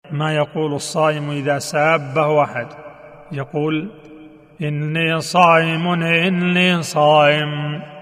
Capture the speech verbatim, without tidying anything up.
ما يقول الصائم إذا سابه أحد، يقول: إني صائم إني صائم.